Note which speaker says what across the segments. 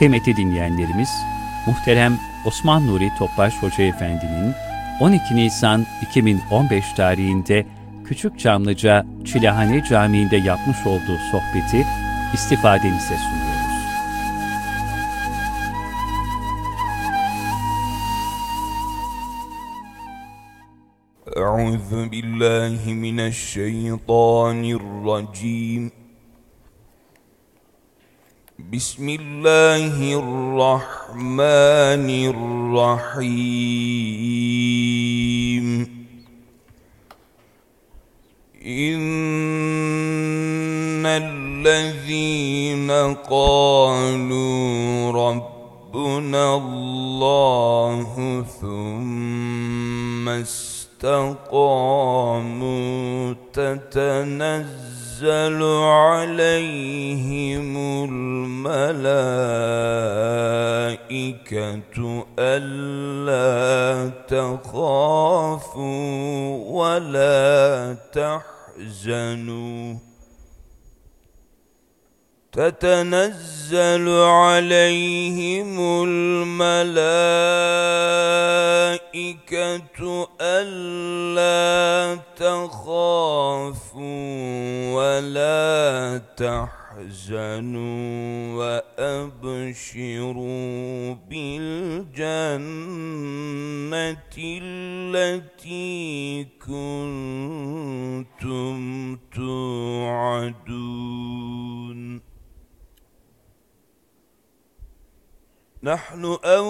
Speaker 1: Kıymetli dinleyenlerimiz, muhterem Osman Nuri Topbaş Hoca Efendi'nin 12 Nisan 2015 tarihinde Küçükçamlıca Çilehane Camii'nde yapmış olduğu sohbeti istifadenize sunuyoruz.
Speaker 2: Euzu billahi mineşşeytanirracim. Bismillahirrahmanirrahim. İnnellezîne kâlû Rabbunallâhu thumme استقاموا تتنزل عليهم الملائكة ألا تخافوا ولا تحزنوا تتنزل عليهم الملائكة ألا تخافوا ولا تحزنوا وأبشروا بالجنة التي كنتم توعدون نحن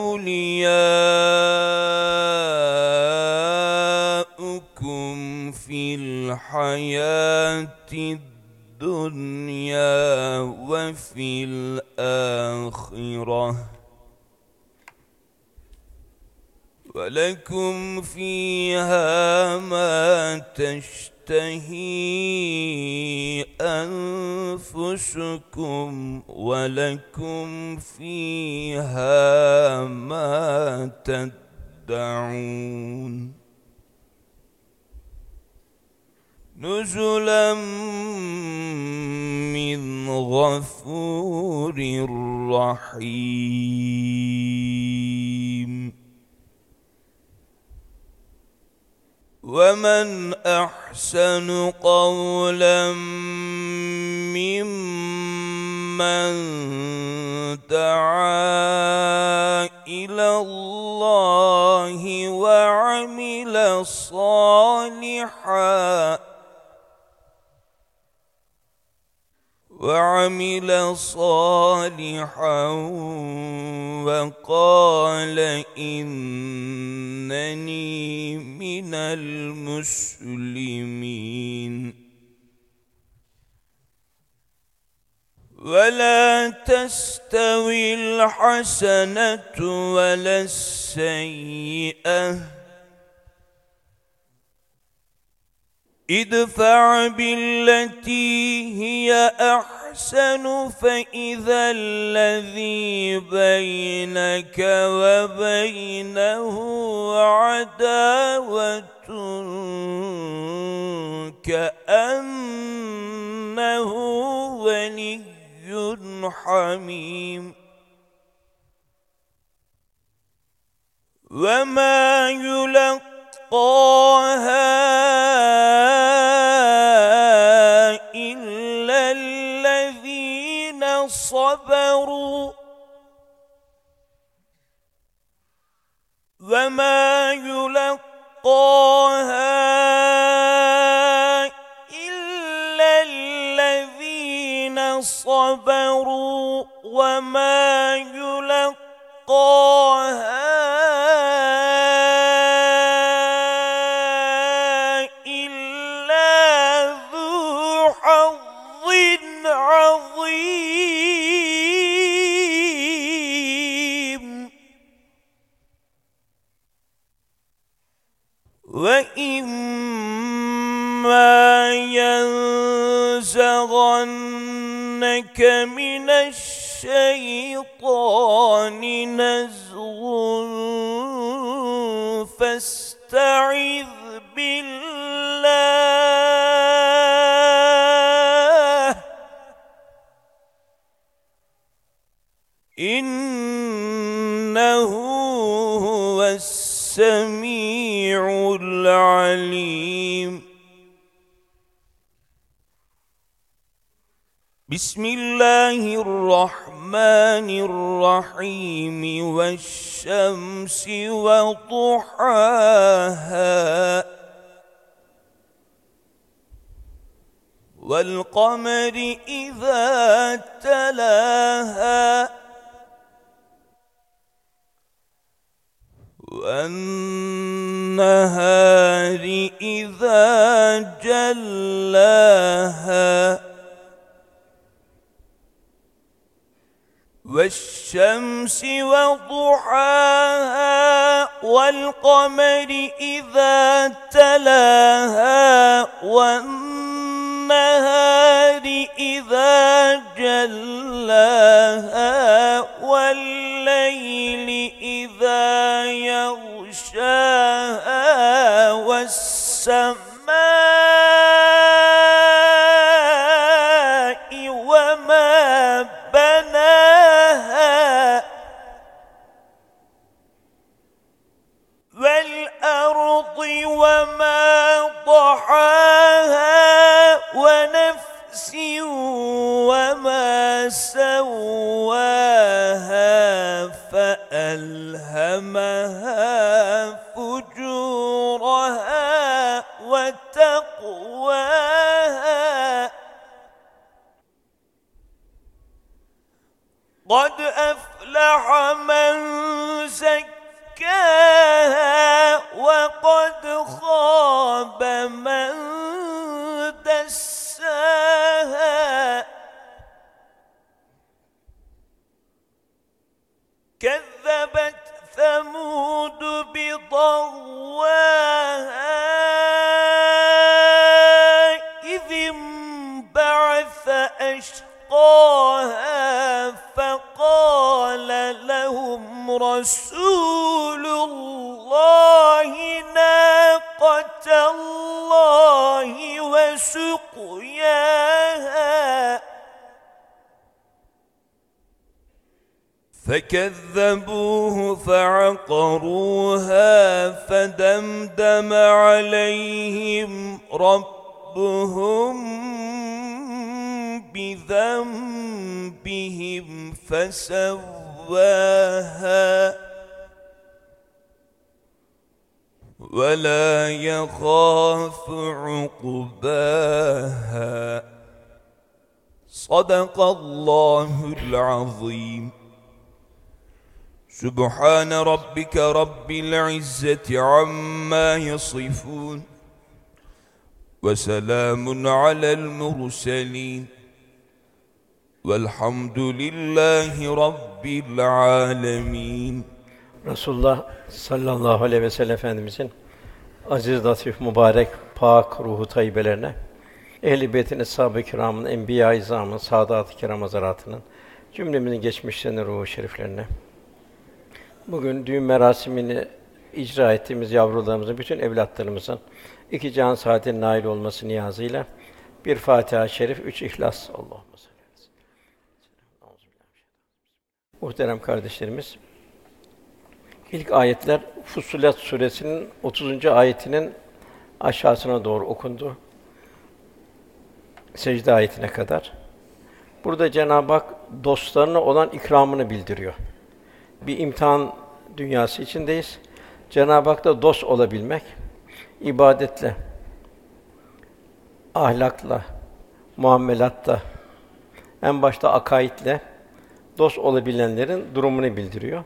Speaker 2: أولياؤكم في الحياة الدنيا وفي الآخرة ولكم فيها ما تشتهي أنفسكم ولكم فيها ما تدعون نزلا من غفور رحيم ومن أحسن قولا ممن دعا إلى الله وعمل صالحا وقال إنني من المسلمين ولا تستوي الحسنة ولا السيئة ادفع بالتي هي أحسن فإذا الذي بينك وبينه عداوة كأنه ولي حميم وما يلقاها إلا الذين صبروا وما يلقاها إلا الذين صبروا وما يلقاها وإما ينزغنك من الشيطان نزغ فاستعذ بالله إنه هو السميع العليم. بسم الله الرحمن الرحيم والشمس وضحاها والقمر إذا تلاها والنهار إذا جلاها والشمس وضحاها والقمر إذا تلاها والنهار إذا جلاها والليل إذا يغشاها والسماء وما بناها والأرض وما ضحاها ونفس وما سواها فألهمها فجورها وتقواها قد أفلح من زكاها وقد خاب من دساها كذبت ثمود بطغواها إذ انبعث أشقاها فقال لهم رسول الله ناقة الله وسقياها فكذبوه فعقروها فدمدم عليهم ربهم بذنبهم فسواها ولا يخاف عقباها صدق الله العظيم. سبحان ربك رب العزة عما يصفون وسلام على المرسلين والحمد لله رب العالمين.
Speaker 3: Resulullah sallallahu aleyhi ve sellem Efendimizin aziz, latif, mübarek, pak ruhu tayyibelerine, ehl-i beytin, eshab-ı kiramın, enbiya-i izamın, saadat-ı kiram hazaratının, cümlemizin geçmişlerinin ruhu şeriflerine, bugün düğün merasimini icra ettiğimiz yavrularımızın, bütün evlatlarımızın iki cihan saadetine nail olması niyazıyla bir Fatiha-i Şerif, 3 İhlas. Allahümme salli aleyhi ve sellem. Muhterem kardeşlerimiz, ilk ayetler Fussilet suresinin 30. ayetinin aşağısına doğru okundu. Secde ayetine kadar. Burada Cenab-ı Hak dostlarına olan ikramını bildiriyor. Bir imtihan dünyası içindeyiz. Cenab-ı Hak'la dost olabilmek, ibadetle, ahlakla, muamelatta, en başta akaidle dost olabilenlerin durumunu bildiriyor.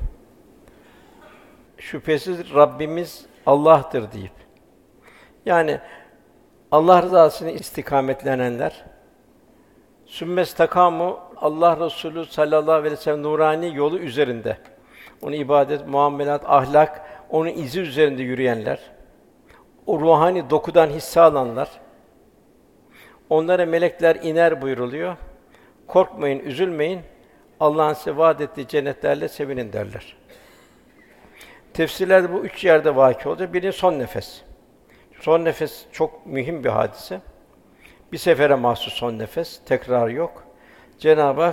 Speaker 3: Şüphesiz Rabbimiz Allah'tır deyip, yani Allah rızasını istikametlenenler, sümmestakamu Allah Resulü sallallahu aleyhi ve sellem nurani yolu üzerinde, onun ibadet, muamelat, ahlak, onun izi üzerinde yürüyenler, o ruhani dokudan hisse alanlar, onlara melekler iner buyruluyor. Korkmayın, üzülmeyin. Allah'ın size vaad ettiği cennetlerle sevinin derler. Tefsirlerde bu 3 yerde vâkî olacak. Birincisi son nefes. Son nefes çok mühim bir hadise. Bir sefere mahsus son nefes, tekrar yok. Cenab-ı Hak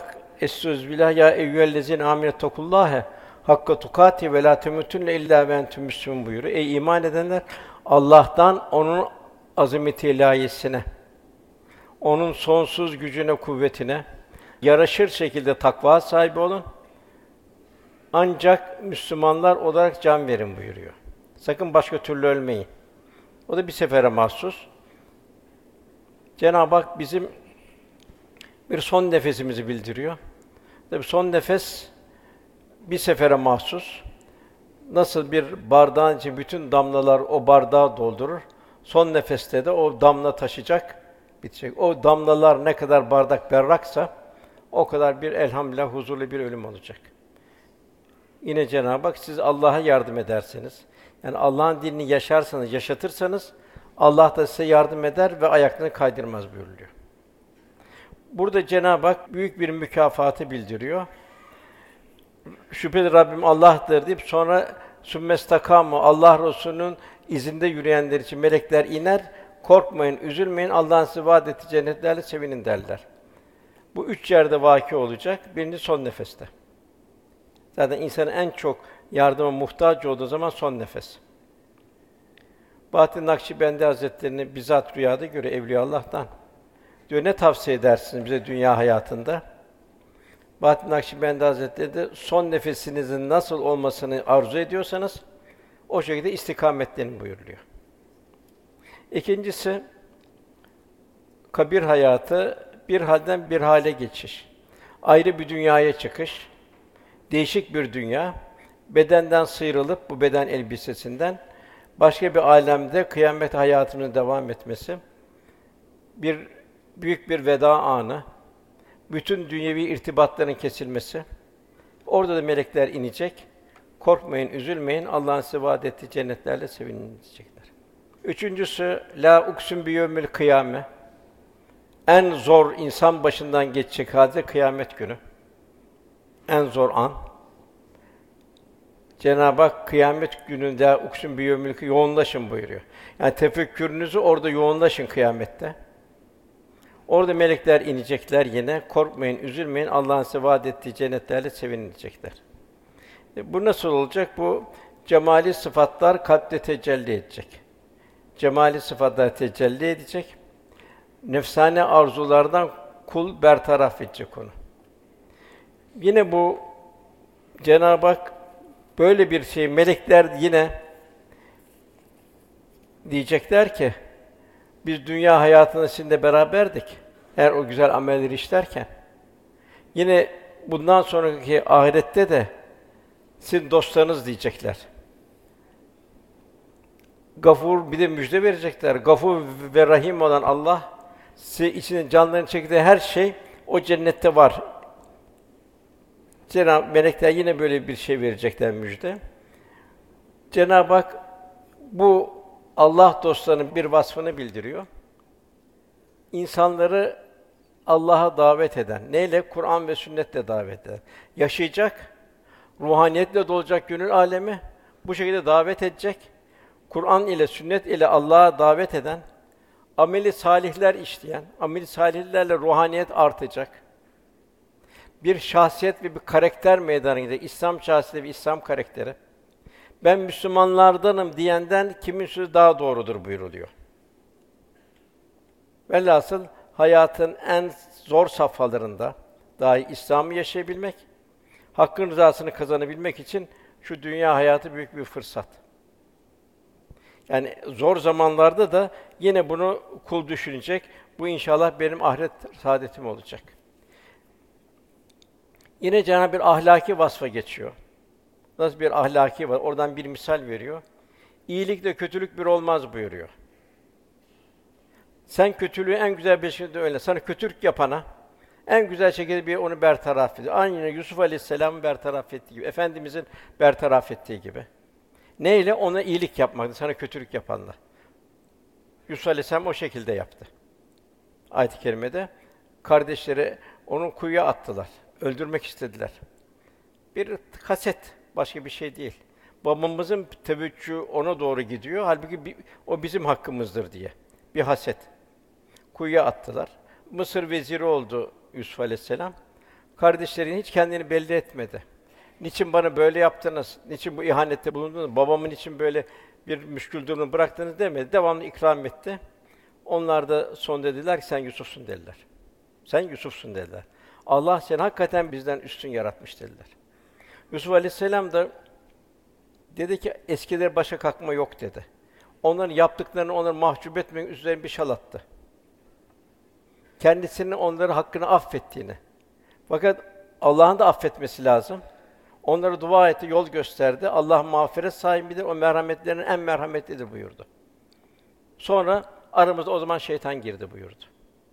Speaker 3: Estağfirullah ya eyyühellezine amenettakullâhe hakka tukâti ve lâ temuttunne illâ ve entüm müslümûn buyuruyor. Ey iman edenler! Allah'tan, onun azameti ilâhiyesine, onun sonsuz gücüne, kuvvetine yaraşır şekilde takva sahibi olun. Ancak Müslümanlar olarak can verin buyuruyor. Sakın başka türlü ölmeyin. O da bir sefere mahsus. Cenab-ı Hak bizim bir son nefesimizi bildiriyor. Tabii son nefes bir sefere mahsus. Nasıl bir bardağın içi bütün damlalar o bardağı doldurur. Son nefeste de o damla taşacak, bitecek. O damlalar ne kadar bardak berraksa o kadar bir elhamdülillah huzurlu bir ölüm olacak. Yine Cenab-ı Hak siz Allah'a yardım ederseniz, yani Allah'ın dinini yaşarsanız, yaşatırsanız Allah da size yardım eder ve ayaklarını kaydırmaz buyuruluyor. Burada Cenab-ı Hak büyük bir mükafatı bildiriyor. Şüpheli Rabbim Allah'tır deyip sonra sümmestakamu Allah Resulü'nün izinde yürüyenler için melekler iner. Korkmayın, üzülmeyin. Allah'ın size vaad ettiği cennetlerle sevinin derler. Bu üç yerde vâki olacak. Birinci son nefeste. Zaten insanın en çok yardıma muhtaç olduğu zaman son nefes. Bahattin Nakşibendi Hazretleri'ni bizzat rüyada görüyor Evliyaullah'tan. Diyor ne tavsiye edersiniz bize dünya hayatında? Bahattin Nakşibendi Hazretleri de son nefesinizin nasıl olmasını arzu ediyorsanız o şekilde istikametlenin buyuruluyor. İkincisi kabir hayatı, bir halden bir hale geçiş. Ayrı bir dünyaya çıkış. Değişik bir dünya. Bedenden sıyrılıp bu beden elbisesinden başka bir âlemde kıyamet hayatının devam etmesi. Büyük bir veda anı. Bütün dünyevi irtibatların kesilmesi. Orada da melekler inecek. Korkmayın, üzülmeyin. Allah'ın size vaad ettiği cennetlerle sevinin diyecekler. Üçüncüsü la uksum biyevmil kıyame. En zor insan başından geçecek hadise kıyamet günü. En zor an. Cenab-ı Hak kıyamet gününde uksum biyevmil yoğunlaşın buyuruyor. Yani tefekkürünüzü orada yoğunlaşın kıyamette. Orada melekler inecekler yine. Korkmayın, üzülmeyin. Allah'ın size vaad ettiği cennetlerle sevinin diyecekler. Bu nasıl olacak? Bu cemali sıfatlar kalpte tecelli edecek. Cemali sıfatlar tecelli edecek. Nefsane arzulardan kul bertaraf edecek onu. Yine bu Cenab-ı Hak böyle bir şey, melekler yine diyecekler ki, biz dünya hayatında sizinle beraberdik. Eğer o güzel amelleri işlerken, yine bundan sonraki ahirette de sizin dostlarınız diyecekler. Gafur, bir de müjde verecekler. Gafur ve Rahim olan Allah, size içine canlarını çektiği her şey o cennette var. Cenab-ı melekler yine böyle bir şey verecekler müjde. Cenab-ı Hak bu Allah dostlarının bir vasfını bildiriyor. İnsanları Allah'a davet eden, neyle? Kur'an ve sünnetle davet eden. Yaşayacak, ruhaniyetle dolacak gönül alemi, bu şekilde davet edecek. Kur'an ile, sünnet ile Allah'a davet eden, ameli salihler işleyen, ameli salihlerle ruhaniyet artacak. Bir şahsiyet ve bir karakter meydana gelecek. İslam şahsiyeti ve İslam karakteri. Ben Müslümanlardanım diyenden kimin sözü daha doğrudur buyuruluyor. Velhasıl hayatın en zor safhalarında dahi İslam'ı yaşayabilmek, Hakk'ın rızasını kazanabilmek için şu dünya hayatı büyük bir fırsat. Yani zor zamanlarda da yine bunu kul düşünecek. Bu inşallah benim ahiret saadetim olacak. Yine Cenab-ı bir ahlaki vasfa geçiyor. Nasıl bir ahlaki var? Oradan bir misal veriyor. İyilikle kötülük bir olmaz buyuruyor. Sen kötülüğü en güzel bir şekilde öyle. Sana kötülük yapana en güzel şekilde bir onu bertaraf ediyor. Aynı Yusuf Aleyhisselam'ın bertaraf ettiği gibi, Efendimizin bertaraf ettiği gibi. Neyle? Ona iyilik yapmaktı, sana kötülük yapanlar. Yusuf Aleyhisselam o şekilde yaptı. Ayet-i kerimede kardeşleri onu kuyuya attılar. Öldürmek istediler. Bir haset, başka bir şey değil. Babamızın teveccühü ona doğru gidiyor. Halbuki o bizim hakkımızdır diye. Bir haset. Kuyuya attılar. Mısır veziri oldu Yusuf Aleyhisselam. Kardeşlerin hiç kendini belli etmedi. Niçin bana böyle yaptınız? Niçin bu ihanette bulundunuz? Babamın için böyle bir müşkül durumu bıraktınız demedi. Devamlı ikram etti. Onlar da son dediler ki sen Yusuf'sun dediler. Sen Yusuf'sun dediler. Allah seni hakikaten bizden üstün yaratmış dediler. Yusuf Aleyhisselam da dedi ki eskileri başa kalkma yok dedi. Onların yaptıklarını onları mahcup etmeyin üzerine bir şal attı. Kendisinin onları hakkını affettiğini. Fakat Allah'ın da affetmesi lazım. Onlara dua etti, yol gösterdi. Allah mağfiret sahibidir, o merhametlerinin en merhametlidir buyurdu. Sonra aramızda o zaman şeytan girdi buyurdu.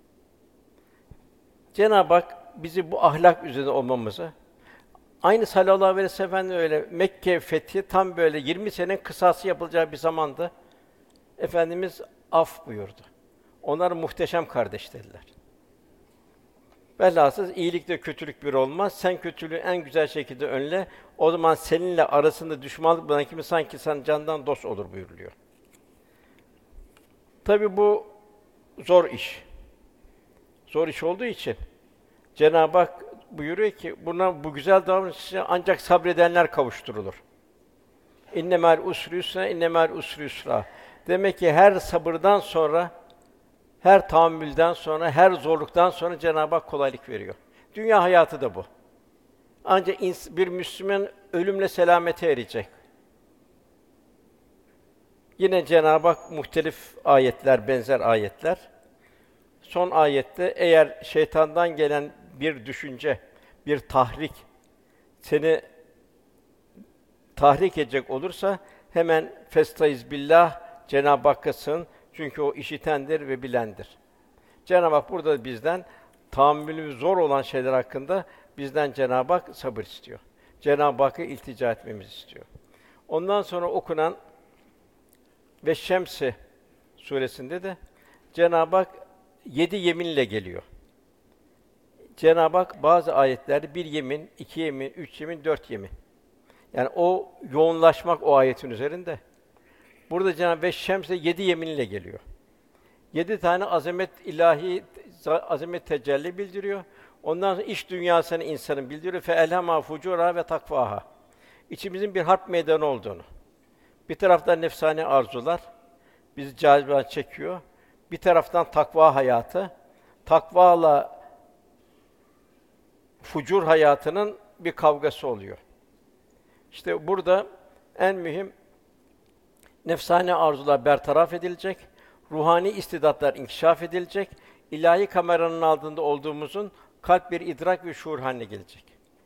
Speaker 3: Cenab-ı Hak bizi bu ahlak üzerinde olmamızı, aynı sallallahu aleyhi ve sellem öyle Mekke fethi tam böyle 20 sene kısası yapılacağı bir zamanda Efendimiz af buyurdu. Onlar muhteşem kardeş dediler. Velhasıl iyilikle kötülük bir olmaz. Sen kötülüğü en güzel şekilde önle. O zaman seninle arasında düşmanlık bulunan kimi sanki sen candan dost olur buyuruluyor. Tabii bu zor iş. Zor iş olduğu için Cenab-ı Hak buyuruyor ki buna bu güzel davranışa ancak sabredenler kavuşturulur. İnnemel usri yusra, innemel usri yusra. Demek ki her sabırdan sonra, her tahammülden sonra, her zorluktan sonra Cenab-ı Hak kolaylık veriyor. Dünya hayatı da bu. Ancak bir Müslüman ölümle selamete erecek. Yine Cenab-ı Hak muhtelif ayetler, benzer ayetler. Son ayette eğer şeytandan gelen bir düşünce, bir tahrik seni tahrik edecek olursa hemen festaiz billah, Cenab-ı Hakk'a sığın. Çünkü o işitendir ve bilendir. Cenab-ı Hak burada bizden tahammülü zor olan şeyler hakkında bizden Cenab-ı Hak sabır istiyor. Cenab-ı Hakk'a iltica etmemizi istiyor. Ondan sonra okunan ve Şems suresinde de Cenab-ı Hak 7 yeminle geliyor. Cenab-ı Hak bazı ayetlerde 1 yemin, 2 yemin, 3 yemin, 4 yemin. Yani o yoğunlaşmak o ayetin üzerinde. Burada Cenab-ı Hak ve Şems'e 7 yeminle geliyor. 7 tane azamet ilahi, azamet tecelli bildiriyor. Ondan sonra iç dünyasını insanın bildiriyor. Fe elhema fucura ve takvaha. İçimizin bir harp meydanı olduğunu. Bir taraftan nefsani arzular bizi cazibe çekiyor. Bir taraftan takva hayatı. Takvayla fucur hayatının bir kavgası oluyor. İşte burada en mühim nefsani arzular bertaraf edilecek, ruhani istidatlar inkişaf edilecek, ilahi kameranın altında olduğumuzun kalp bir idrak ve şuur haline gelecek.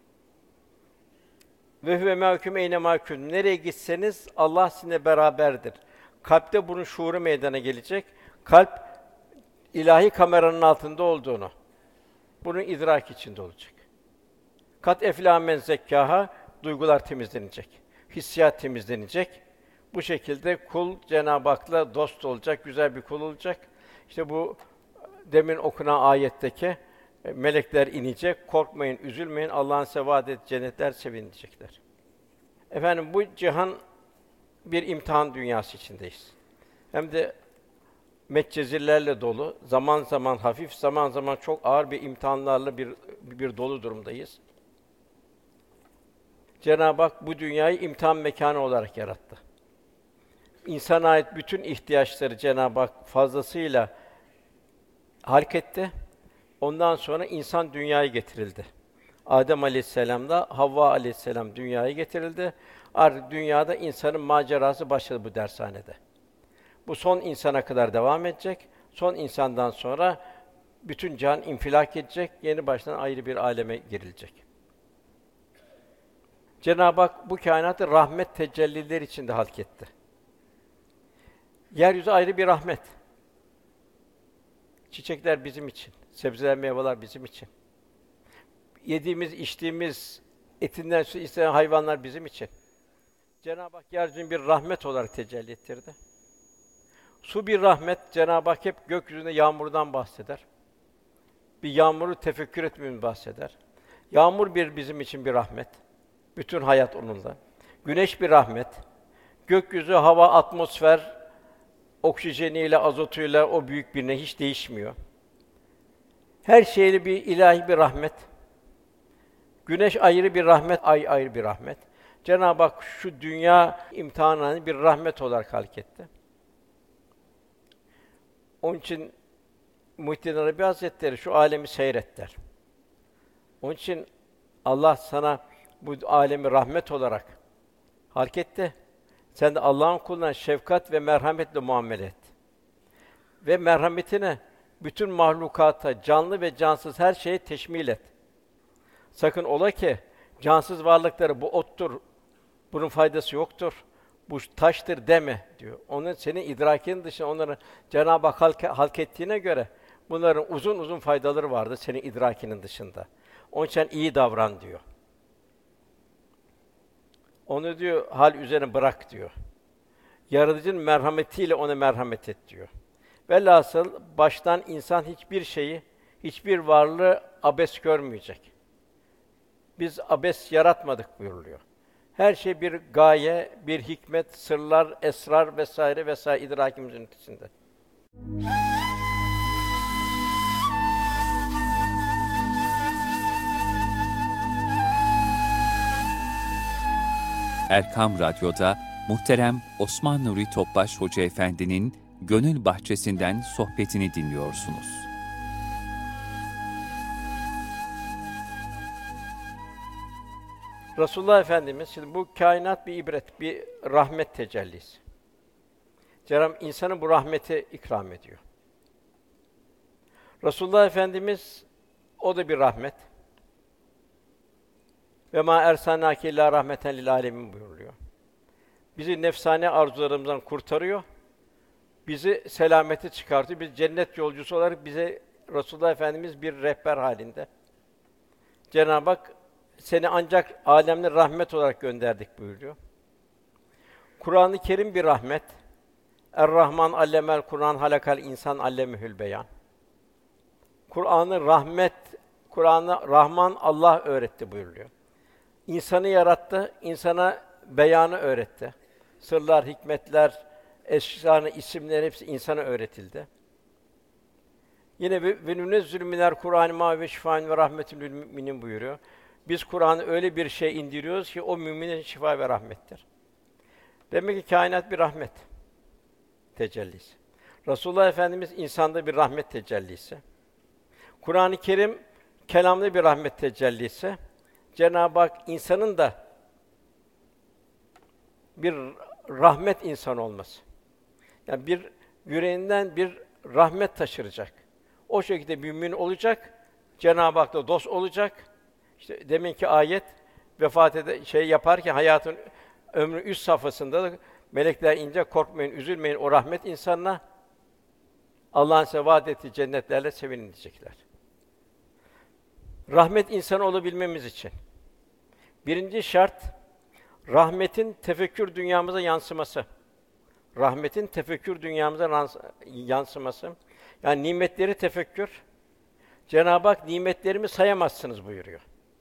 Speaker 3: Ve huve mâküm eyne mâkûn. Nereye gitseniz Allah sizinle beraberdir. Kalpte bunun şuuru meydana gelecek. Kalp ilahi kameranın altında olduğunu, bunun idrak içinde olacak. Kat eflâ men zekkâhâ, duygular temizlenecek, hissiyat temizlenecek. Bu şekilde kul Cenab-ı Hak'la dost olacak, güzel bir kul olacak. İşte bu demin okunan ayetteki melekler inecek, korkmayın, üzülmeyin, Allah'ın size vaad ettiği cennetler sevinecekler. Efendim bu cihan bir imtihan dünyası içindeyiz. Hem de metcezirlerle dolu, zaman zaman hafif, zaman zaman çok ağır bir imtihanlarla bir dolu durumdayız. Cenab-ı Hak bu dünyayı imtihan mekânı olarak yarattı. İnsana ait bütün ihtiyaçları Cenab-ı Hak fazlasıyla halk etti. Ondan sonra insan dünyaya getirildi. Adem Aleyhisselam'da Havva Aleyhisselam dünyaya getirildi. Artık dünyada insanın macerası başladı bu dershanede. Bu son insana kadar devam edecek. Son insandan sonra bütün cihan infilak edecek. Yeni baştan ayrı bir aleme girilecek. Cenab-ı Hak bu kainatı rahmet tecellileri içinde halk etti. Yeryüzü ayrı bir rahmet. Çiçekler bizim için, sebzeler, meyveler bizim için. Yediğimiz, içtiğimiz, etinden su isteyen hayvanlar bizim için. Cenab-ı Hak yeryüzünü bir rahmet olarak tecelli ettirdi. Su bir rahmet, Cenab-ı Hak hep gökyüzünde yağmurdan bahseder. Bir yağmuru tefekkür etmemizi bahseder. Yağmur bizim için bir rahmet. Bütün hayat onunla. Güneş bir rahmet. Gökyüzü, hava, atmosfer, oksijeniyle, azotuyla o büyük birine hiç değişmiyor. Her şeyle bir ilahi bir rahmet. Güneş ayrı bir rahmet, ay ayrı bir rahmet. Cenab-ı Hak şu dünya imtihanını bir rahmet olarak halk etti. Onun için Muhyiddin Arabi Hazretleri şu alemi seyret der. Onun için Allah sana bu alemi rahmet olarak halk etti. Sen de Allah'ın kuluna şefkat ve merhametle muamele et. Ve merhametine bütün mahlukata, canlı ve cansız her şeye teşmil et. Sakın ola ki cansız varlıkları bu ottur, bunun faydası yoktur, bu taştır deme diyor. Onun senin idrakinin dışında onları Cenab-ı Hak halk ettiğine göre bunların uzun uzun faydaları vardır senin idrakinin dışında. Onun için iyi davran diyor. Onu diyor hal üzerine bırak diyor. Yaratıcının merhametiyle ona merhamet et diyor. Velhasıl baştan insan hiçbir şeyi, hiçbir varlığı abes görmeyecek. Biz abes yaratmadık buyuruluyor. Her şey bir gaye, bir hikmet, sırlar, esrar vesaire vesaire idrakimizin ötesinde.
Speaker 1: Erkam Radyo'da muhterem Osman Nuri Topbaş Hoca Efendi'nin Gönül Bahçesi'nden sohbetini dinliyorsunuz.
Speaker 3: Resulullah Efendimiz, şimdi bu kainat bir ibret, bir rahmet tecellisi. Cenab-ı Hak insana bu rahmeti ikram ediyor. Resulullah Efendimiz, o da bir rahmet. Ve mâ ersâlnâke illâ rahmeten lil âlemin buyuruluyor. Bizi nefsane arzularımızdan kurtarıyor. Bizi selamete çıkartıyor. Biz cennet yolcusu olarak bize Resulullah Efendimiz bir rehber halinde. Cenab-ı Hak seni ancak âlemle rahmet olarak gönderdik buyuruyor. Kur'an-ı Kerim bir rahmet. Er-Rahman allemel Kur'an halakal insan allemehül beyan. Kur'an'ı rahmet, Kur'an'ı Rahman Allah öğretti buyuruluyor. İnsanı yarattı, insana beyanı öğretti. Sırlar, hikmetler, esrar, isimler hepsi insana öğretildi. Yine ve nünezzülü minel Kur'an mâ ve şifâen ve rahmetün lil müminin buyuruyor. Biz Kur'an'ı öyle bir şey indiriyoruz ki o müminin şifa ve rahmettir. Demek ki kainat bir rahmet tecellisi. Resulullah Efendimiz insanda bir rahmet tecellisi. Kur'an-ı Kerim kelamda bir rahmet tecellisi. Cenab-ı Hak insanın da bir rahmet insan olması. Yani bir yüreğinden bir rahmet taşıracak. O şekilde mümin olacak. Cenab-ı Hak'la dost olacak. İşte deminki ayet yaparken hayatın ömrü üst safhasında da melekler ince korkmayın, üzülmeyin o rahmet insanına Allah'ın size vaad ettiği cennetlerle sevinin diyecekler. Rahmet insanı olabilmemiz için birinci şart rahmetin tefekkür dünyamıza yansıması. Rahmetin tefekkür dünyamıza yansıması. Yani nimetleri tefekkür. Cenab-ı Hak nimetlerimi sayamazsınız buyuruyor.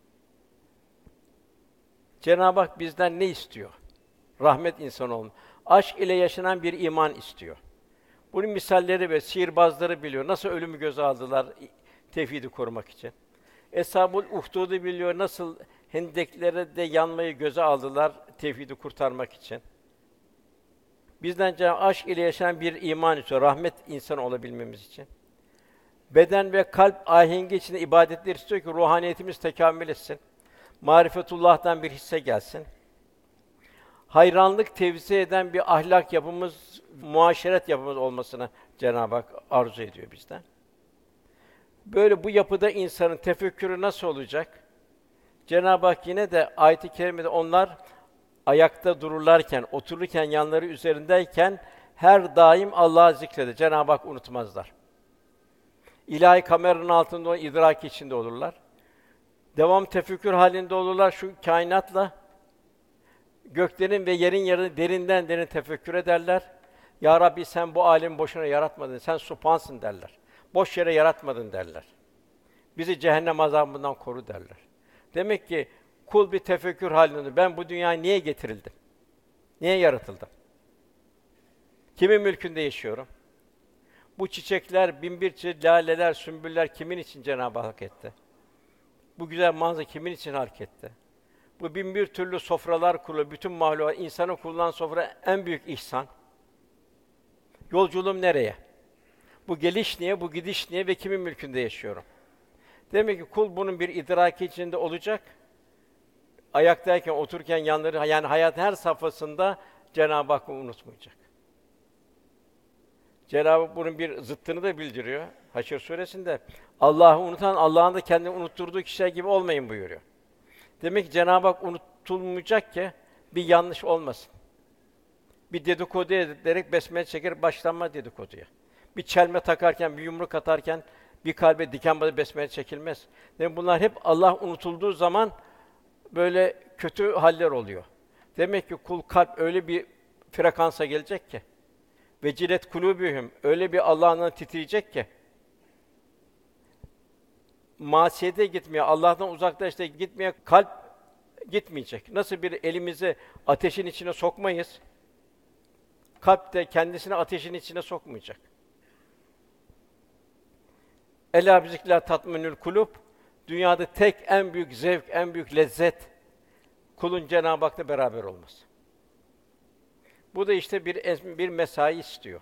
Speaker 3: Cenab-ı Hak bizden ne istiyor? Rahmet insanı olma. Aşk ile yaşanan bir iman istiyor. Bunun misalleri ve sihirbazları biliyor. Nasıl ölümü göze aldılar tevhidi korumak için. Eshab-ül Uhdud'u biliyor. Nasıl hendeklere de yanmayı göze aldılar tevhidi kurtarmak için. Bizden aşk ile yaşanan bir iman istiyor. Rahmet insanı olabilmemiz için. Beden ve kalp ahengi içinde ibadetler istiyor ki ruhaniyetimiz tekamül etsin. Marifetullah'tan bir hisse gelsin. Hayranlık tevzi eden bir ahlak yapımız, muaşeret yapımız olmasını Cenab-ı Hak arzu ediyor bizden. Böyle bu yapıda insanın tefekkürü nasıl olacak? Cenab-ı Hak yine de ayet-i kerimede onlar ayakta dururlarken, otururken, yanları üzerindeyken her daim Allah'ı zikreder. Cenab-ı Hak unutmazlar. İlahi kameranın altında idrak içinde olurlar. Devam tefekkür halinde olurlar şu kainatla. Göklerin ve yerin yerini derinden derin tefekkür ederler. Ya Rabbi sen bu alemi boşuna yaratmadın. Sen subhansın derler. Boş yere yaratmadın derler. Bizi cehennem azabından koru derler. Demek ki kul bir tefekkür halinde. Ben bu dünyaya niye getirildim? Niye yaratıldım? Kimin mülkünde yaşıyorum? Bu çiçekler, binbir çeşit laleler, sümbüller kimin için Cenab-ı Hak etti? Bu güzel manzara kimin için harekette? Bu bin bir türlü sofralar kurulu, bütün mahlukat, insanın kurulan sofra en büyük ihsan. Yolculuğum nereye? Bu geliş niye, bu gidiş niye ve kimin mülkünde yaşıyorum? Demek ki kul bunun bir idraki içinde olacak. Ayaktayken, otururken yanları, yani hayatın her safhasında Cenab-ı Hakk'ı unutmayacak. Cenab-ı Hak bunun bir zıttını da bildiriyor. Haşr suresinde Allah'ı unutan, Allah'ın da kendini unutturduğu kişiler gibi olmayın buyuruyor. Demek ki Cenab-ı Hak unutulmayacak ki bir yanlış olmasın. Bir dedikodu ederek besmele çeker başlanma dedikoduya. Bir çelme takarken, bir yumruk atarken bir kalbe diken batıp besmele çekilmez. Demek bunlar hep Allah unutulduğu zaman böyle kötü haller oluyor. Demek ki kul kalp öyle bir frekansa gelecek ki vecilet kulûbühüm öyle bir Allah'ın titreyecek ki masiyete gitmeye, Allah'tan uzaklaştığı gitmeye kalp gitmeyecek. Nasıl bir elimizi ateşin içine sokmayız, kalp de kendisini ateşin içine sokmayacak. Elâ bizikrillah tatmenül kulûb, dünyada tek en büyük zevk, en büyük lezzet kulun Cenab-ı Hak'la beraber olması. Bu da işte bir mesai istiyor.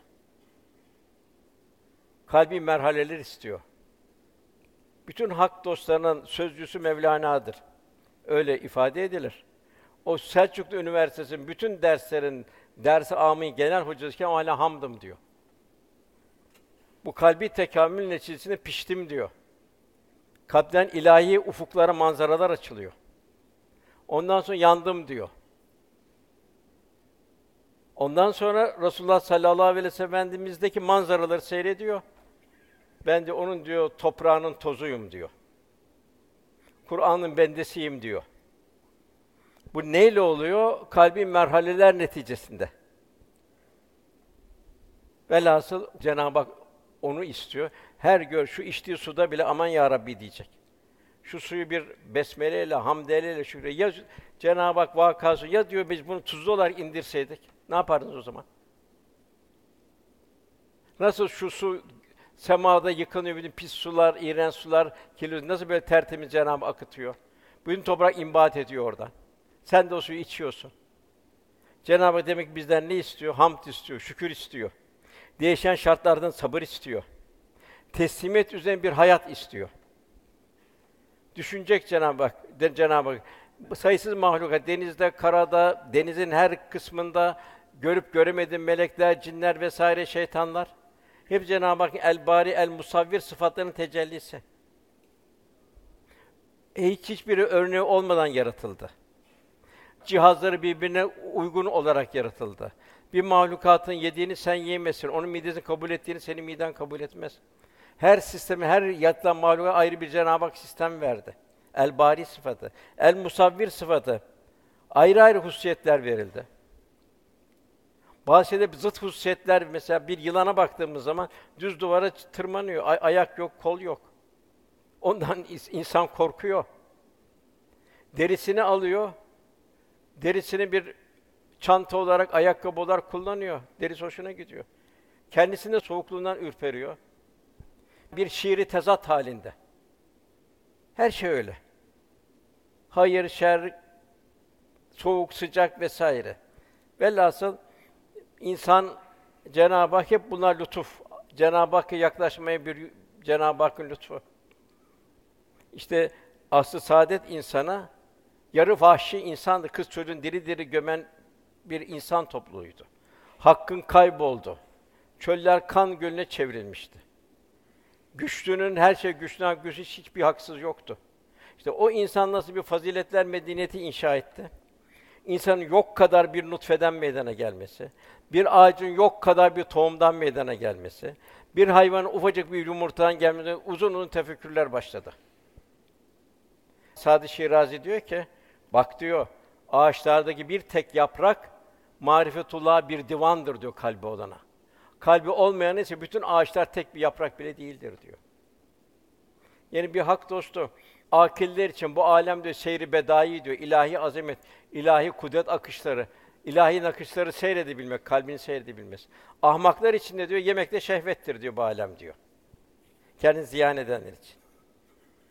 Speaker 3: Kalbi merhaleler istiyor. Bütün hak dostlarının sözcüsü Mevlana'dır. Öyle ifade edilir. O Selçuklu Üniversitesi'nin bütün derslerin ders-i âmî genel hocasıyken o hâlâ hamdım diyor. Bu kalbi tekamül neticesinde piştim diyor. Kalpten ilahi ufuklara, manzaralar açılıyor. Ondan sonra yandım diyor. Ondan sonra Resulullah sallallahu aleyhi ve sellem Efendimiz'deki manzaraları seyrediyor. Ben de onun diyor toprağının tozuyum diyor. Kur'an'ın bendesiyim diyor. Bu neyle oluyor? Kalbi merhaleler neticesinde. Velhasıl Cenab-ı Hak onu istiyor. Şu içtiği suda bile aman ya Rabbi diyecek. Şu suyu bir besmeleyle, hamdeleyle şükür. Ya Cenab-ı Hak vakası ya diyor biz bunu tuzlu olarak indirseydik ne yapardınız o zaman? Nasıl şu su semada yıkanıyor, bütün pis sular, iğrenç sular, kirli nasıl böyle tertemiz Cenab-ı Hak akıtıyor? Bütün toprak imbat ediyor oradan. Sen de o suyu içiyorsun. Cenab-ı Hak demek ki bizden ne istiyor? Hamd istiyor, şükür istiyor. Değişen şartlardan sabır istiyor. Teslimiyet üzerine bir hayat istiyor. Düşünecek Cenab-ı Hak, Cenab-ı Hak. Sayısız mahlukat, denizde, karada, denizin her kısmında görüp göremediğin melekler, cinler vesaire şeytanlar. Hep Cenab-ı Hak el-Bari, el-Musavvir sıfatlarının tecellisi. Hiçbiri örneği olmadan yaratıldı. Cihazları birbirine uygun olarak yaratıldı. Bir mahlukatın yediğini sen yiyemezsin. Onun midesini kabul ettiğini senin miden kabul etmez. Her sistemi, her yaratılan mahluka ayrı bir Cenab-ı Hak sistem verdi. El-Bari sıfatı, el-Musavvir sıfatı. Ayrı ayrı hususiyetler verildi. Bazı şeyde zıt hususiyetler, mesela bir yılana baktığımız zaman düz duvara tırmanıyor. Ayak yok, kol yok. Ondan insan korkuyor. Derisini alıyor. Derisini bir çanta olarak, ayakkabı olarak kullanıyor. Derisi hoşuna gidiyor. Kendisinde soğukluğundan ürperiyor. Bir şiiri tezat halinde. Her şey öyle. Hayır, şer, soğuk, sıcak vesaire. Velhasıl insan, Cenab-ı Hak hep bunlar lütuf. Cenab-ı Hakk'a yaklaşmaya bir Cenab-ı Hakk'ın lütfu. İşte aslı saadet insana yarı vahşi insandı. Kız çocuğun diri diri gömen bir insan topluluğuydu. Hakkın kayboldu. Çöller kan gölüne çevrilmişti. Güçlünün her şey güçlüden güçsüz hiçbir haksız yoktu. İşte o insan nasıl bir faziletler medeniyeti inşa etti? İnsanın yok kadar bir nutfeden meydana gelmesi, bir ağacın yok kadar bir tohumdan meydana gelmesi, bir hayvanın ufacık bir yumurtadan gelmesi, uzun uzun tefekkürler başladı. Sadi Şirazi diyor ki, bak diyor, ağaçlardaki bir tek yaprak, marifetullah bir divandır diyor kalbi olana. Kalbi olmayan ise bütün ağaçlar tek bir yaprak bile değildir diyor. Yani bir hak dostu, akiller için bu alem diyor seyri bedai diyor, ilahi azamet, ilahi kudret akışları, ilahi nakışları seyredebilmek, kalbini seyredebilmesi. Ahmaklar için de diyor yemekte şehvettir diyor bu alem diyor. Kendini ziyan edenler için.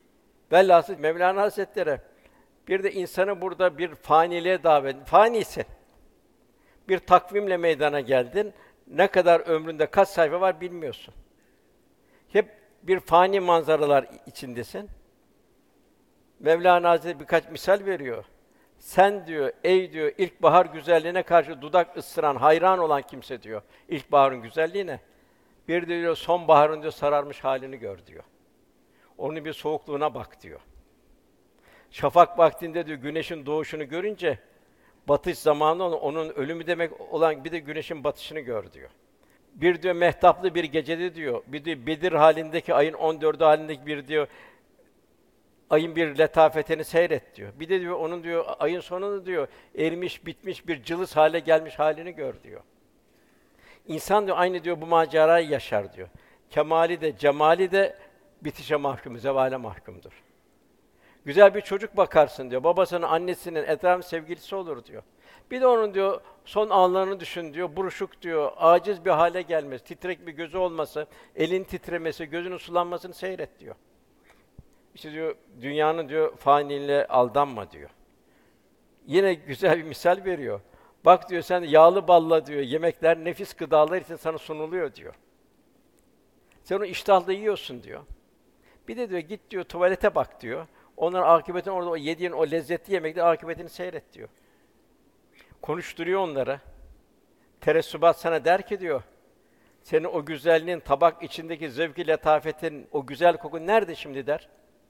Speaker 3: Velhasıl Mevlana Hazretleri bir de insanı burada bir faniliğe davet. Fanisin. Bir takvimle meydana geldin. Ne kadar ömründe kaç sayfa var bilmiyorsun. Hep bir fani manzaralar içindesin. Mevlana Hazretleri birkaç misal veriyor. Sen diyor, ey diyor, ilkbahar güzelliğine karşı dudak ısıran, hayran olan kimse diyor, ilkbaharın güzelliğine. Bir diyor, sonbaharın diyor, sararmış halini gör diyor. Onun bir soğukluğuna bak diyor. Şafak vaktinde diyor, güneşin doğuşunu görünce, batış zamanı onun ölümü demek olan bir de güneşin batışını gör diyor. Bir diyor, mehtaplı bir gecede diyor, bir diyor, Bedir halindeki ayın 14'ü halindeki bir diyor, ayın bir letafetini seyret diyor. Bir de diyor, onun diyor, ayın sonunu diyor, erimiş, bitmiş bir cılız hale gelmiş halini gör diyor. İnsan diyor, aynı diyor, bu macerayı yaşar diyor. Kemali de, cemali de bitişe mahkum, zevale mahkumdur. Güzel bir çocuk bakarsın diyor, babasının, annesinin, etrafın sevgilisi olur diyor. Bir de onun diyor, son anlarını düşün diyor, buruşuk diyor, aciz bir hale gelmesi, titrek bir gözü olması, elin titremesi, gözünün sulanmasını seyret diyor. İşte diyor, dünyanın diyor, faniliğine aldanma diyor. Yine güzel bir misal veriyor. Bak diyor, sen yağlı balla diyor, yemekler, nefis gıdalar için sana sunuluyor diyor. Sen onu iştahla yiyorsun diyor. Bir de diyor, git diyor, tuvalete bak diyor. Onların akıbetini orada o yediğin o lezzetli yemeklerin akıbetini seyret diyor. Konuşturuyor onlara. Teressubat sana der ki diyor, senin o güzelliğin, tabak içindeki zevk-i letafetin, o güzel kokun nerede şimdi der.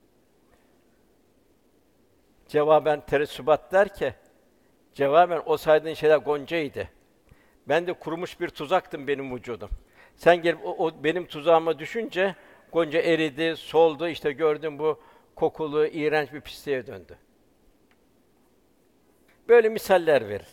Speaker 3: Cevaben teressubat der ki, cevaben o saydığın şeyler goncaydı. Ben de kurumuş bir tuzaktım benim vücudum. Sen gelip o benim tuzağıma düşünce gonca eridi, soldu, işte gördüm bu kokulu, iğrenç bir pisliğe döndü. Böyle misaller verir.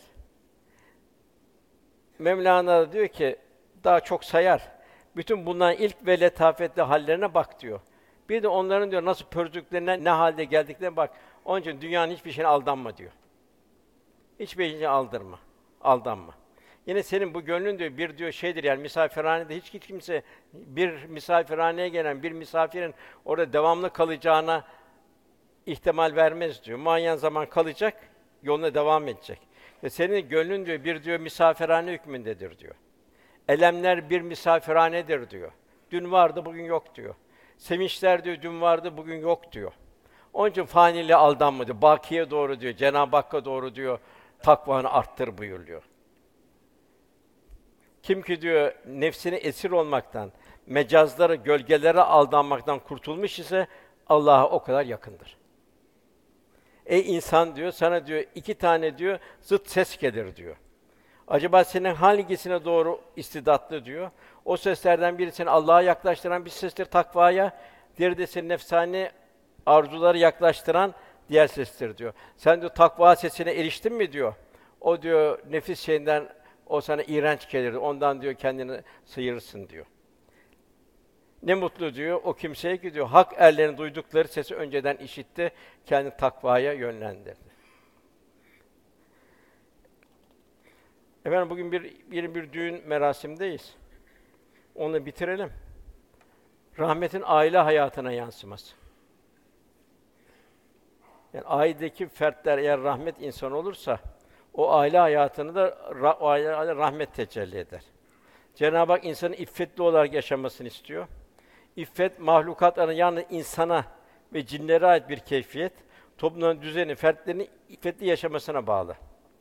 Speaker 3: Mevlana diyor ki, daha çok sayar. Bütün bunların ilk ve letafetli hallerine bak diyor. Bir de onların diyor nasıl pördüklerine, ne halde geldiklerine bak. Onun için dünyanın hiçbir şeyine aldanma diyor. Hiçbir şeyine aldırma, aldanma. Yine senin bu gönlün diyor, bir diyor şeydir yani misafirhanede hiç kimse, bir misafirhaneye gelen bir misafirin orada devamlı kalacağına ihtimal vermez diyor. Muayyen zaman kalacak, yoluna devam edecek. Ve senin gönlün diyor, bir diyor misafirhane hükmündedir diyor. Elemler bir misafirhanedir diyor. Dün vardı, bugün yok diyor. Sevinçler diyor, dün vardı, bugün yok diyor. Onun için faniliğe aldanma diyor. Bakiye doğru diyor, Cenab-ı Hakk'a doğru diyor, takvanı arttır buyuruyor. Kim ki diyor, nefsine esir olmaktan, mecazlara, gölgelere aldanmaktan kurtulmuş ise, Allah'a o kadar yakındır. Ey insan diyor, sana diyor, 2 tane diyor, zıt ses gelir diyor. Acaba senin hangisine doğru istidatlı diyor. O seslerden biri seni Allah'a yaklaştıran bir sestir takvaya, diğeri de seni nefsani arzuları yaklaştıran diğer sestir diyor. Sen diyor takva sesine eriştin mi diyor. O diyor nefis şeyinden o sana iğrenç gelir. Ondan diyor kendini sıyırırsın diyor. Ne mutlu diyor o kimseye ki diyor hak erlerin duydukları sesi önceden işitti, kendi takvaya yönlendirdi. Efendim bugün bir düğün merasimdeyiz. Onu bitirelim. Rahmetin aile hayatına yansıması. Yani ailedeki fertler eğer rahmet insanı olursa, o aile hayatını da o aile rahmet tecelli eder. Cenab-ı Hak insanın iffetli olarak yaşamasını istiyor. İffet mahlukatların yalnız insana ve cinlere ait bir keyfiyet. Toplumun düzeni, fertlerin iffetli yaşamasına bağlı.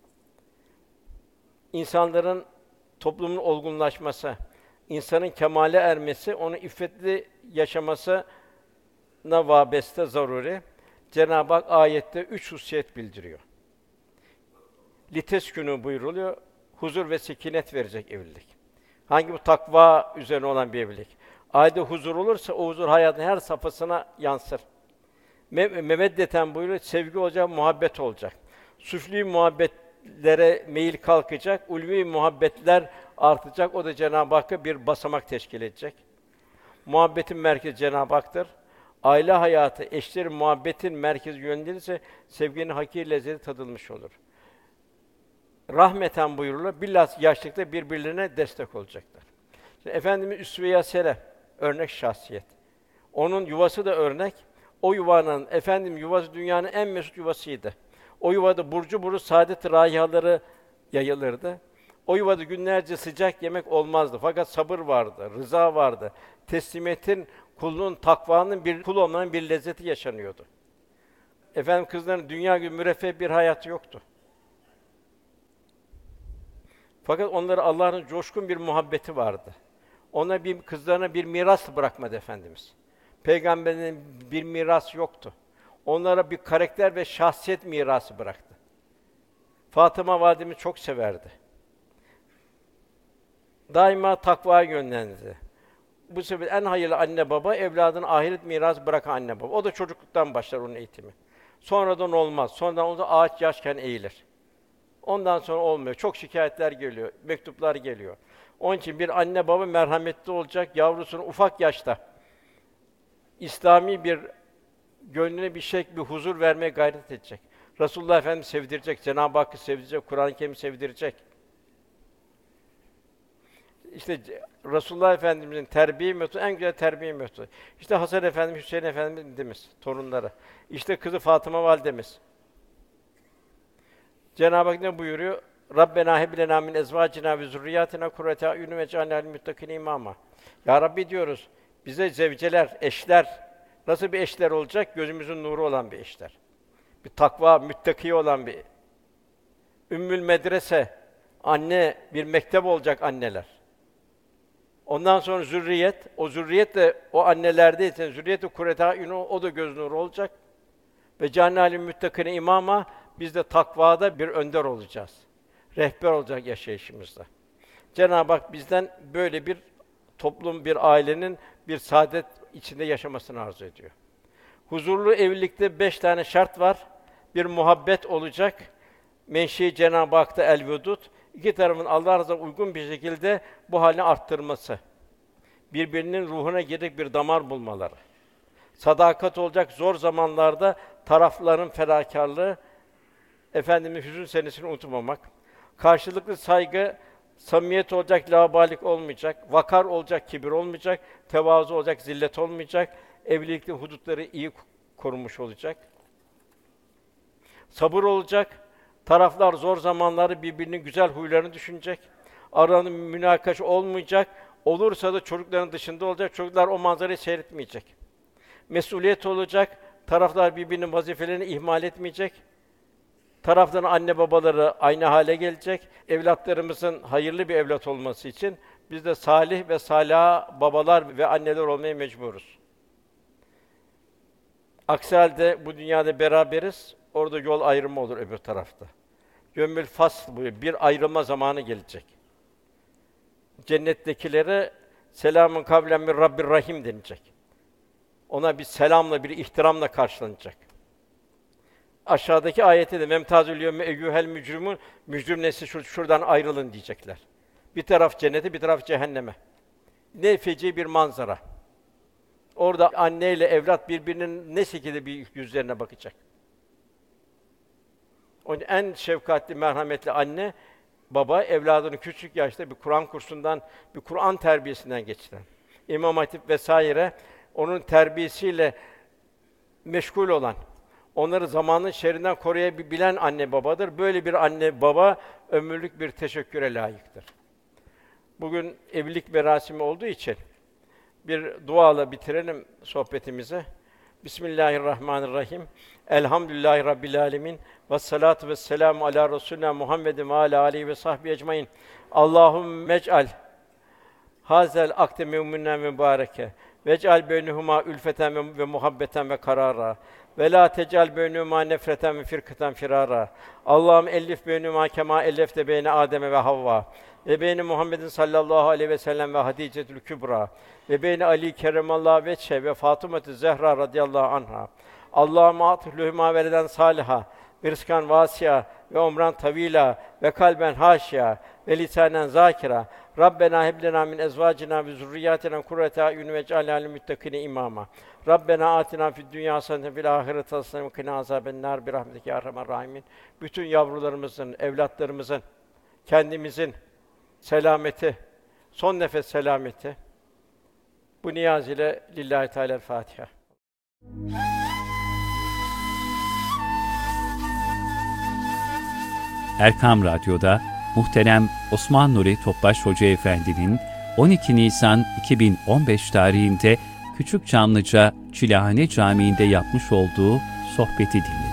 Speaker 3: İnsanların toplumun olgunlaşması, insanın kemale ermesi, onun iffetli yaşamasına vabeste zaruri. Cenab-ı Hak ayette 3 hususiyet bildiriyor. Liteskünû buyuruluyor, huzur ve sekinet verecek evlilik. Hangi bu takva üzerine olan bir evlilik? Ailede huzur olursa o huzur hayatın her safhasına yansır. Meveddeten buyuruyor, sevgi olacak, muhabbet olacak. Süflî muhabbetlere meyil kalkacak, ulvi muhabbetler artacak. O da Cenab-ı Hakk'a bir basamak teşkil edecek. Muhabbetin merkezi Cenab-ı Hak'tır. Aile hayatı, eşlerin muhabbetin merkezi yönlenirse sevginin hakiki lezzeti tadılmış olur. Rahmeten buyurulur, bilhassa yaşlılıkta birbirlerine destek olacaklar. Şimdi Efendimiz üsve-i hasene, örnek şahsiyet. Onun yuvası da örnek, O yuvanın, yuvası dünyanın en mesut yuvasıydı. O yuvada burcu buruş saadet raihaları yayılırdı. O yuvada günlerce sıcak yemek olmazdı. Fakat sabır vardı, rıza vardı. Teslimiyetin, kulluğun, takvanın bir kul olmanın bir lezzeti yaşanıyordu. Kızların dünya gibi müreffeh bir hayatı yoktu. Fakat onlara Allah'ın coşkun bir muhabbeti vardı. Kızlarına bir miras bırakmadı Efendimiz. Peygamberinin bir miras yoktu. Onlara bir karakter ve şahsiyet mirası bıraktı. Fatıma validemiz çok severdi. Daima takvaya yönlendirdi. Bu sebeple en hayırlı anne baba, evladına ahiret mirası bırakan anne baba. O da çocukluktan başlar onun eğitimi. Sonradan olmaz. Sonradan olunca ağaç yaşken eğilir. Ondan sonra olmuyor. Çok şikâyetler geliyor, mektuplar geliyor. Onun için bir anne baba merhametli olacak, yavrusunu ufak yaşta İslami bir gönlüne bir huzur vermeye gayret edecek. Resulullah Efendimiz sevdirecek, Cenab-ı Hakk'ı sevdirecek, Kur'an-ı Kerim'i sevdirecek. İşte Resulullah Efendimiz'in terbiye metodu en güzel terbiye metodu. İşte Hasan Efendimiz, Hüseyin Efendimiz torunları. İşte kızı Fatıma validemiz. Cenab-ı Hak ne buyuruyor? Rabbena heb lena min ezvacina ve zurriyatina kurrate a'yun vec'alna lil muttaqine imama. Ya Rabbi diyoruz, bize zevceler, eşler, nasıl bir eşler olacak? Gözümüzün nuru olan bir eşler. Bir takva, müttaki olan bir ümmül medrese, anne, bir mektep olacak anneler. Ondan sonra zürriyet, o zürriyet de o annelerdeyse zürriyet-i kurrate a'yun, o da göz nuru olacak. Ve cealna lil muttaqine imama, biz de takvada bir önder olacağız. Rehber olacak yaşayışımızda. Cenab-ı Hak bizden böyle bir toplum, bir ailenin bir saadet içinde yaşamasını arzu ediyor. Huzurlu evlilikte 5 tane şart var. Bir muhabbet olacak. Menşei Cenab-ı Hak'ta el-vedud. İki tarafın Allah rızasına uygun bir şekilde bu halini arttırması. Birbirinin ruhuna girip bir damar bulmaları. Sadakat olacak zor zamanlarda tarafların fedakârlığı, Efendimiz hüzün senesini unutmamak. Karşılıklı saygı, samimiyet olacak, laubalik olmayacak, vakar olacak, kibir olmayacak, tevazu olacak, zillet olmayacak, evlilikte hudutları iyi korunmuş olacak. Sabır olacak, taraflar zor zamanları birbirinin güzel huylarını düşünecek, aranın münakaşa olmayacak, olursa da çocukların dışında olacak, çocuklar o manzarayı seyretmeyecek. Mesuliyet olacak, taraflar birbirinin vazifelerini ihmal etmeyecek, tarafların anne babaları aynı hale gelecek. Evlatlarımızın hayırlı bir evlat olması için biz de salih ve salâh babalar ve anneler olmaya mecburuz. Aksi halde bu dünyada beraberiz, orada yol ayrımı olur öbür tarafta. Yevmül fasl buyuruyor, bir ayrılma zamanı gelecek. Cennettekilere selamun kavlen min Rabbir Rahim denilecek. Ona bir selamla, bir ihtiramla karşılanacak. Aşağıdaki ayette de memtazül yevme eyyuhel mücrimun, mücrim nesli şuradan ayrılın diyecekler. Bir taraf cennete, bir taraf cehenneme. Ne feci bir manzara. Orada anneyle evlat birbirinin ne şekilde bir yüzlerine bakacak. Onun en şefkatli, merhametli anne, baba evladını küçük yaşta bir Kur'an kursundan, bir Kur'an terbiyesinden geçiren, İmam Hatip vesaire onun terbiyesiyle meşgul olan, onları zamanın şerrinden koruyabilen anne babadır. Böyle bir anne baba ömürlük bir teşekküre layıktır. Bugün evlilik merasimi olduğu için bir duayla bitirelim sohbetimizi. Bismillahirrahmanirrahim. Elhamdülillahi Rabbil alemin. Vessalatu vesselamu ala Resulina Muhammedin ve ala alihi ve sahbihi ecmaîn. Allahümme ec'al hazel akde mü'minen ve mübareke. Vec'al beynehuma ülfeten ve muhabbeten ve karara. Ve la tec'al beynehuma nefreten ve firkatan firara. Allahümme ellif beynehuma kema ellefte beyne Adem ve Havva. Ve beyne Muhammedin sallallahu aleyhi ve sellem ve Hadicetül Kübra. Ve beyne Ali keremallahu veçhe ve Fatıma-tı Zehra radıyallahu anha. Allahümme atlühüma veleden saliha. Ve rızkan vâsi'a ve umran tavîlâ ve kalben hâşi'a ve lisânen zâkira. Rabbena heb lena min ezvâcina ve zurriyâtina kurrate a'yun vec'alnâ lil muttaqîne imâma. Rabbena âtinâ fid dünyâ haseneten ve fil âhireti haseneten ve qina azâbennâr bi rahmetike ya erhamer râhimin. Bütün yavrularımızın, evlatlarımızın, kendimizin selameti, son nefes selameti. Bu niyaz ile Lillahi Teala'l Fatiha.
Speaker 1: Erkam Radyo'da muhterem Osman Nuri Topbaş Hoca Efendi'nin 12 Nisan 2015 tarihinde Küçükçamlıca Çilehane Camii'nde yapmış olduğu sohbeti dinliyoruz.